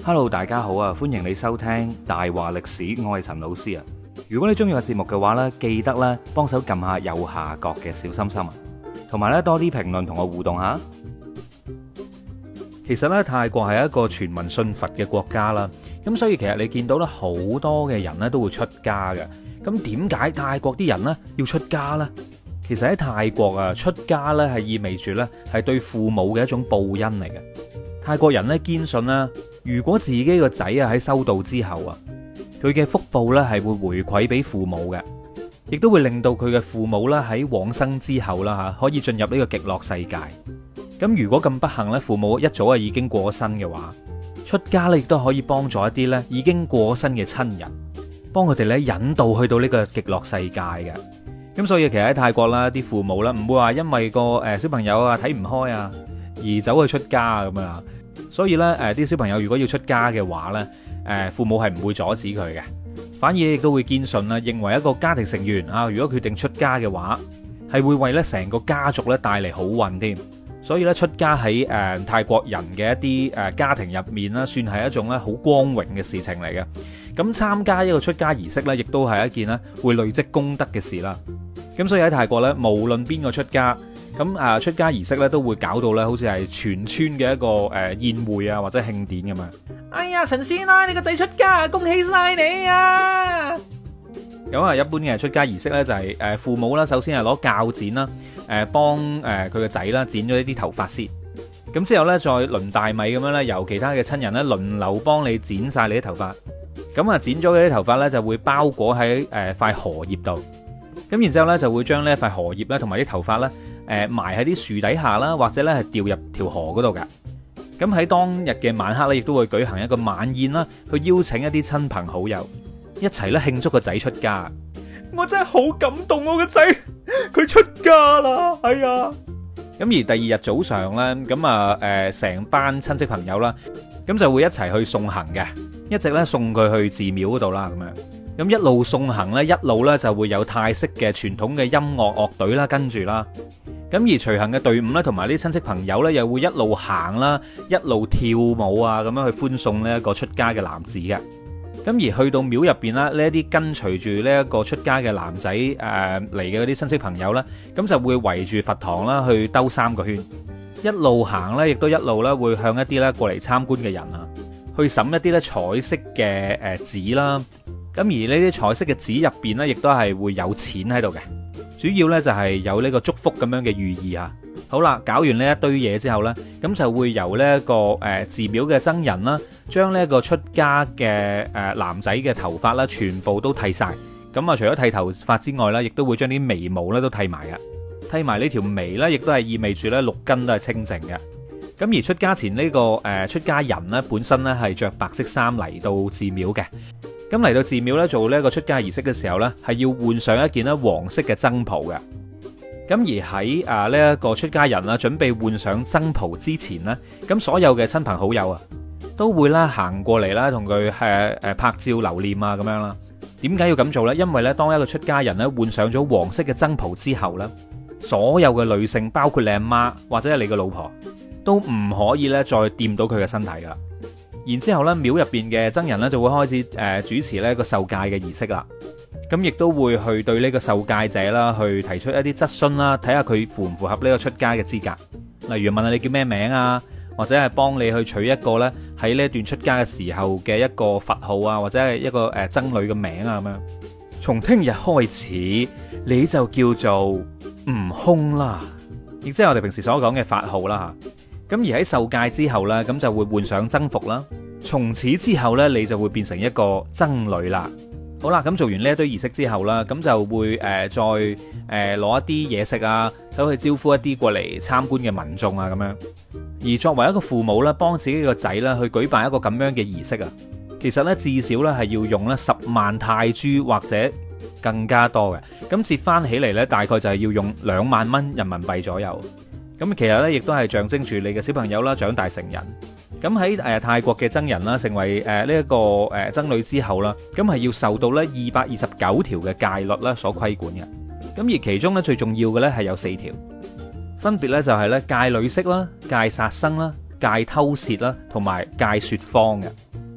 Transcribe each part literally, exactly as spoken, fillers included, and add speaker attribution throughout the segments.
Speaker 1: Hello，大家好啊！歡迎你收聽大話歷史，我係陳老師啊。如果你中意個節目嘅話呢，記得咧幫手撳下右下角嘅小心心啊，同埋咧多啲評論同我互動下。其實咧泰國係一個全民信佛嘅國家啦，咁所以其實你見到咧好多嘅人咧都會出家嘅。咁點解泰國啲人咧要出家呢？其實喺泰國啊，出家咧係意味住咧係對父母嘅一種報恩嚟嘅。泰國人咧堅信啦，如果自己個仔啊喺修道之後啊，佢嘅福報咧係會回饋俾父母嘅，亦都會令到佢嘅父母咧喺往生之後啦吓，可以進入呢個極樂世界。咁如果咁不幸咧，父母一早啊已經過身嘅話，出家咧亦都可以幫助一啲咧已經過身嘅親人，幫佢哋咧引導去到呢個極樂世界嘅。咁所以其實喺泰國啦，啲父母啦唔會話因為個誒小朋友啊睇唔開啊而走去出家咁啊。所以咧，誒啲小朋友如果要出家嘅話咧，誒父母係唔會阻止佢嘅，反而亦都會堅信啦，認為一個家庭成員啊，如果決定出家嘅話，係會為咧成個家族咧帶嚟好運添。所以咧出家喺誒泰國人嘅一啲誒家庭入面啦，算係一種咧好光榮嘅事情嚟嘅。咁參加一個出家儀式咧，亦都係一件咧會累積功德嘅事啦。咁所以喺泰國咧，無論邊個出家，咁啊出家儀式咧都會搞到咧，好似係全村嘅一個誒宴會啊或者慶典咁樣。哎呀，陳師奶，你個仔出家，恭喜晒你啊！咁啊，一般嘅出家儀式咧就係誒父母啦，首先係攞鉸剪啦，誒幫誒佢個仔啦剪咗一啲頭髮先。咁之後咧再輪大米咁樣咧，由其他嘅親人咧輪流幫你剪晒你啲頭髮。咁啊剪咗嘅啲頭髮咧就會包裹喺誒塊荷葉度。咁然之後咧就會將呢一塊荷葉咧同埋啲頭髮咧。誒埋喺啲樹底下啦，或者咧係掉入條河嗰度㗎。咁喺當日嘅晚黑咧，亦都會舉行一個晚宴啦，去邀請一啲親朋好友一齊咧慶祝個仔出家。我真係好感動，我個仔佢出家啦，係啊！咁而第二日早上咧，咁啊誒成班親戚朋友啦，咁就會一齊去送行嘅，一直咧送佢去寺廟嗰度啦，咁樣。咁一路送行咧，一路咧就會有泰式嘅傳統嘅音樂樂隊啦，跟住啦。咁而隨行嘅隊伍咧，同埋啲親戚朋友咧，又會一路行啦，一路跳舞啊，咁樣去歡送呢一個出家嘅男子嘅。咁而去到廟入邊啦，呢一啲跟隨住呢一個出家嘅男仔誒嚟嘅嗰啲親戚朋友咧，咁就會圍住佛堂啦，去兜三個圈，一路行咧，亦都一路咧會向一啲咧過嚟參觀嘅人啊，去審一啲咧彩色嘅誒紙啦。咁而呢啲彩色嘅紙入邊咧，亦都係會有錢喺度嘅。主要呢就係有呢個祝福咁樣嘅寓意啊。好啦，搞完呢一堆嘢之後呢，咁就會由呢一個誒寺廟嘅僧人啦，將呢一個出家嘅誒男仔嘅頭髮啦，全部都剃晒。咁啊，除咗剃頭髮之外呢，亦都會將啲眉毛咧都剃埋嘅，剃埋呢條眉呢，亦都係意味住呢六根都係清淨嘅。咁而出家前呢個誒出家人呢，本身呢係着白色衫嚟到寺廟嘅。咁嚟到寺廟咧做呢一個出家儀式嘅時候咧，係要換上一件咧黃色嘅僧袍嘅。咁而喺啊呢一個出家人啦，準備換上僧袍之前呢，咁所有嘅親朋好友啊，都會啦行過嚟啦，同佢誒誒拍照留念啊咁樣啦。點解要咁做呢？因為咧，當一個出家人咧換上咗黃色嘅僧袍之後咧，所有嘅女性，包括你阿媽或者係你嘅老婆，都唔可以咧再掂到佢嘅身體噶啦。然之後咧，廟入邊嘅僧人咧就會開始誒主持呢個受戒嘅儀式啦。咁亦都會去對呢個受戒者啦，去提出一啲質詢啦，睇下佢符唔符合呢個出家嘅資格。例如問下你叫咩名啊，或者係幫你去取一個咧喺呢一段出家嘅時候嘅一個佛號啊，或者係一個誒僧侶嘅名啊咁樣。從聽日開始，你就叫做悟空啦，亦即係我哋平時所講嘅法號啦吓。咁而喺受戒之後呢，咁就會換上僧服啦。從此之後呢，你就會變成一個僧侶啦。好啦，咁做完呢一堆儀式之後啦，咁就會誒、呃、再誒攞、呃、一啲嘢食啊，走去招呼一啲過嚟參觀嘅民眾啊咁樣。而作為一個父母咧，幫自己個仔咧去舉辦一個咁樣嘅儀式啊，其實呢，至少呢係要用咧十萬泰銖或者更加多嘅。咁折翻起嚟呢，大概就係要用兩萬蚊人民幣左右。咁其實咧，亦都係象徵住你嘅小朋友啦，長大成人。咁喺誒泰國嘅僧人啦，成為誒呢一個誒僧侶之後啦，咁係要受到咧二百二十九條嘅戒律啦所規管嘅。咁而其中咧最重要嘅咧係有四條，分別咧就係咧戒女色啦、戒殺生啦、戒偷竊啦，同埋戒說謊嘅。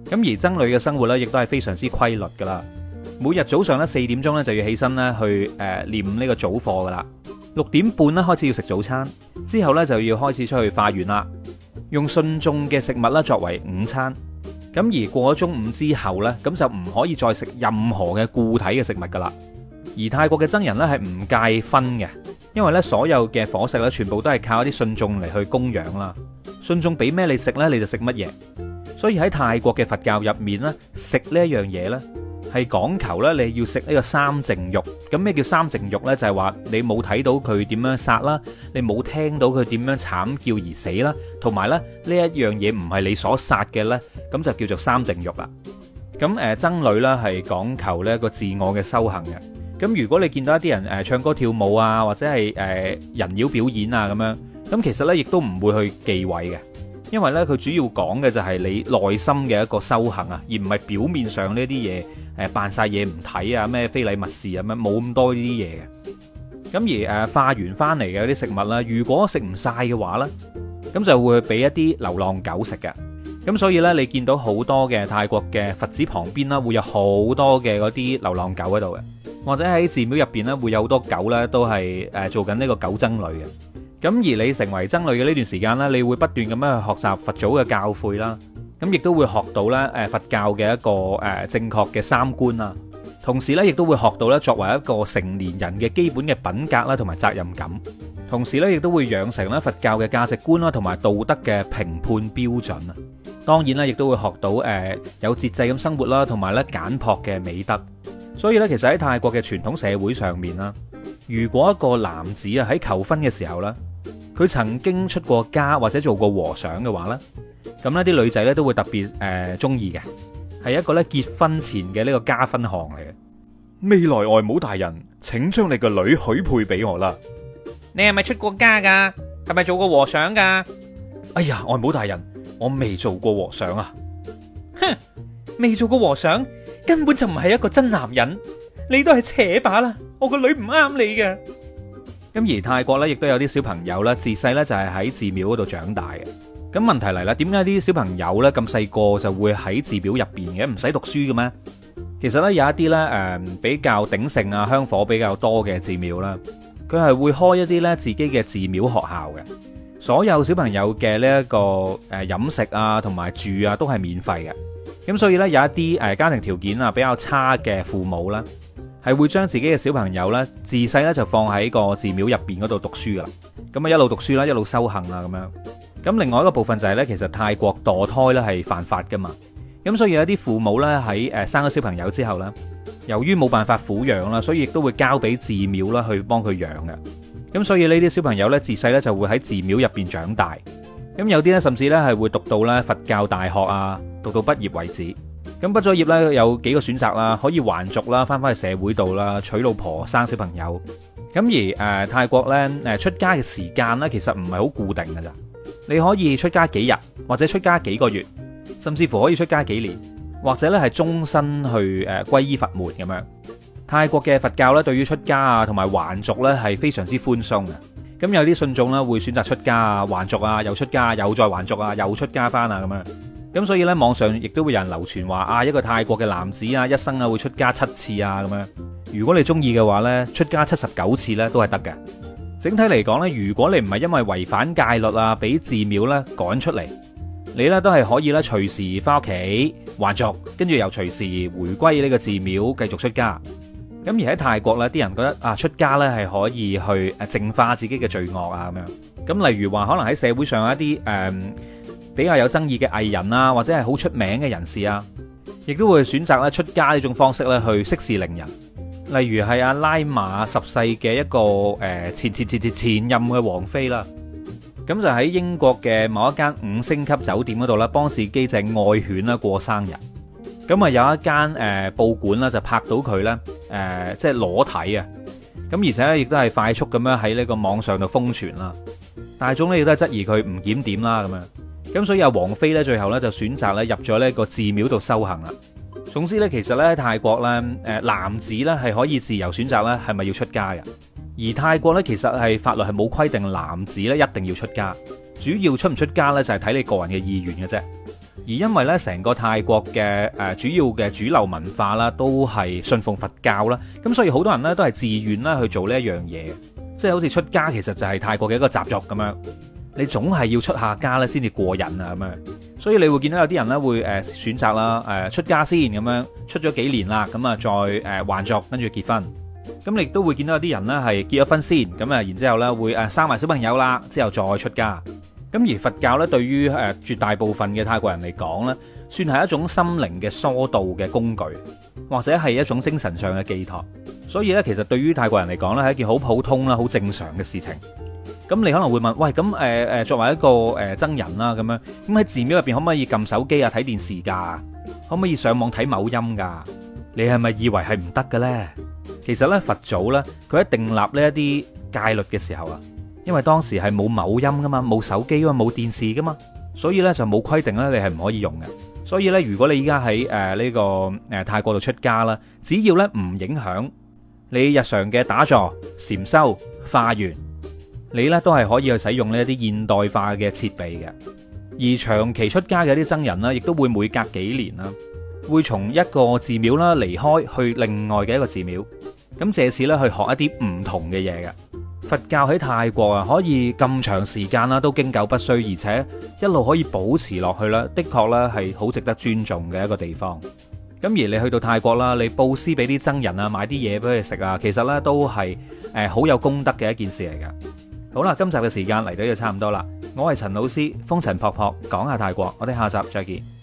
Speaker 1: 咁而僧侶嘅生活咧，亦都係非常之規律噶啦。每日早上咧四點鐘咧就要起身咧去誒念呢個早課噶啦。六點半咧開始要食早餐，之後咧就要開始出去化緣啦，用信眾嘅食物咧作為午餐。咁而過咗中午之後咧，咁就唔可以再食任何嘅固體嘅食物噶啦。而泰國嘅僧人咧係唔戒葷嘅，因為咧所有嘅伙食咧全部都係靠一啲信眾嚟去供養啦。信眾俾咩你食咧，你就食乜嘢。所以喺泰國嘅佛教入面咧，食呢一樣嘢咧係講求咧你要食呢個三淨肉。咁咩叫三淨肉咧？就係話你冇睇到佢點樣殺啦，你冇聽到佢點樣慘叫而死啦，同埋咧呢一樣嘢唔係你所殺嘅咧，咁就叫做三淨肉啦。咁誒僧侶咧係講求呢一個自我嘅修行嘅。咁如果你見到一啲人誒唱歌跳舞啊，或者係誒人妖表演啊咁樣，咁其實咧亦都唔會去忌諱嘅，因為咧佢主要講嘅就係你內心嘅一個修行啊，而唔係表面上呢啲嘢誒扮晒嘢唔睇啊，咩非禮勿視啊，咩冇咁多呢啲嘢嘅。咁而誒化完翻嚟嘅啲食物啦，如果食唔晒嘅話咧，咁就會俾一啲流浪狗食嘅。咁所以咧，你見到好多嘅泰國嘅佛寺旁邊啦，會有好多嘅嗰啲流浪狗喺度嘅。或者喺寺廟入邊咧，會有好多狗咧，都係誒做緊呢個狗僧侶嘅。咁而你成為僧侶嘅呢段時間咧，你會不斷咁樣去學習佛祖嘅教誨啦。咁亦都會學到咧誒佛教嘅一個誒正確嘅三觀啦。同時咧，亦都會學到咧作為一個成年人嘅基本嘅品格啦，同埋責任感。同時咧，亦都會養成咧佛教嘅價值觀啦，同埋道德嘅評判標準啊。當然啦，亦都會學到誒有節制咁生活啦，同埋咧簡樸嘅美德。所以咧，其實喺泰國嘅傳統社會上面啦，如果一個男子啊喺求婚嘅時候咧，佢曾經出過家或者做過和尚嘅話咧，咁呢啲女仔咧都會特別誒中意嘅，係一個咧結婚前嘅呢個加分項嚟嘅。未來外母大人，請將你個女許配俾我啦。
Speaker 2: 你係咪出過家噶？係咪做過和尚噶？
Speaker 1: 哎呀，外母大人，我未做過和尚啊。
Speaker 2: 哼，未做過和尚？根本就唔係一個真男人，你都係扯把啦！我個女唔啱你嘅。
Speaker 1: 咁而泰國咧，亦都有啲小朋友咧，自細咧就係喺寺廟嗰度長大嘅。咁問題嚟啦，點解啲小朋友咧咁細個就會喺寺廟入邊嘅？唔使讀書嘅咩？其實咧有一啲咧誒比較鼎盛啊、香火比較多嘅寺廟啦，佢係會開一啲咧自己嘅寺廟學校嘅。所有小朋友嘅呢一個誒飲食啊同埋住啊都係免費嘅。咁所以咧，有一啲誒家庭條件啊比較差嘅父母啦，係會將自己嘅小朋友咧自細咧就放喺個寺廟入邊嗰度讀書噶啦。咁啊一路讀書啦，一路修行啦咁樣。咁另外一個部分就係咧，其實泰國墮胎咧係犯法噶嘛。咁所以有一啲父母咧喺誒生咗小朋友之後咧，由於冇辦法撫養啦，所以亦都會交俾寺廟啦去幫佢養嘅。咁所以呢啲小朋友咧自細咧就會喺寺廟入邊長大。咁有啲咧甚至咧係會讀到咧佛教大學啊，讀到畢業為止。咁畢咗業咧有幾個選擇啦，可以還俗啦，翻返去社會度啦，娶老婆生小朋友。咁而誒、呃、泰國咧誒出家嘅時間咧其實唔係好固定㗎咋，你可以出家幾日，或者出家幾個月，甚至乎可以出家幾年，或者咧係終身去誒皈依佛門咁樣。泰國嘅佛教咧對於出家啊同埋還俗咧係非常之寬鬆嘅。咁有啲信眾咧會選擇出家啊、還俗啊、又出家、又再還俗啊、又出家翻啊咁樣。咁所以咧網上亦都會有人流傳話啊，一個泰國嘅男子啊一生啊會出家七次啊咁樣。如果你中意嘅話咧，出家七十九次咧都係得嘅。整體嚟講咧，如果你唔係因為違反戒律啊，俾寺廟咧趕出嚟，你咧都係可以咧隨時翻屋企還俗，跟住又隨時回歸呢個寺廟繼續出家。咁而喺泰國咧，啲人覺得啊，出家咧係可以去誒淨化自己嘅罪惡啊咁樣。咁例如話，可能喺社會上有一啲誒、嗯、比較有爭議嘅藝人啊，或者係好出名嘅人士啊，亦都會選擇咧出家呢種方式咧去息事寧人。例如係阿拉瑪十世嘅一個誒前前前前前任嘅王妃啦，咁就喺英國嘅某一間五星級酒店嗰度啦，幫自己隻愛犬啦過生日。咁啊有一間誒、呃、報館啦就拍到佢咧誒即係裸體啊，咁而且咧亦都係快速咁樣喺呢個網上度瘋傳啦，大眾咧亦都係質疑佢唔檢點啦咁樣，咁所以阿王妃咧最後咧就選擇咧入咗呢個寺廟度修行啦。總之咧，其實咧泰國咧誒男子咧係可以自由選擇咧係咪要出家嘅，而泰國咧其實係法律係冇規定男子咧一定要出家，主要出唔出家咧就係睇你個人嘅意願嘅啫。 而因為咧成個泰國嘅誒主要嘅主流文化啦，都係信奉佛教啦，咁所以好多人咧都係自願啦去做呢一樣嘢，即係好似出家其實就係泰國嘅一個習俗咁樣，你總係要出下家咧先至過癮啊咁樣，所以你會見到有啲人咧會誒選擇啦誒出家先咁樣，出咗幾年啦，咁啊再誒還俗跟住結婚，咁你亦都會見到有啲人咧係結咗婚先，咁啊然之後咧會誒生埋小朋友啦，之後再出家。咁而佛教咧，對於誒絕大部分嘅泰國人嚟講咧，算係一種心靈嘅疏導嘅工具，或者係一種精神上嘅寄託。所以咧，其實對於泰國人嚟講咧，係一件好普通啦、好正常嘅事情。咁你可能會問：喂，咁誒誒，作為一個誒僧人啦，咁樣咁喺寺廟入邊可唔可以撳手機啊、睇電視㗎？可唔可以上網睇某音㗎？你係咪以為係唔得嘅咧？其實咧，佛祖咧，佢喺訂立呢一啲戒律嘅時候啊，因為當時係冇某音噶嘛，冇手機噶嘛，冇電視噶嘛，所以咧就冇規定咧，你係唔可以用嘅。所以咧，如果你依家喺誒呢個誒泰國度出家啦，只要咧唔影響你日常嘅打坐、禪修、化緣，你咧都係可以去使用呢一啲現代化嘅設備嘅。而長期出家嘅啲僧人啦，亦都會每隔幾年啦，會從一個寺廟啦離開去另外嘅一個寺廟，咁借此咧去學一啲唔同嘅嘢嘅。佛教喺泰國啊，可以咁長時間啦，都經久不衰，而且一路可以保持落去啦，的確咧係好值得尊重嘅一個地方。咁而你去到泰國啦，你布施俾啲僧人啊，買啲嘢俾佢食啊，其實咧都係誒好有功德嘅一件事嚟噶。好啦，今集嘅時間嚟到就差唔多啦，我係陳老師，風塵僕僕講下泰國，我哋下集再見。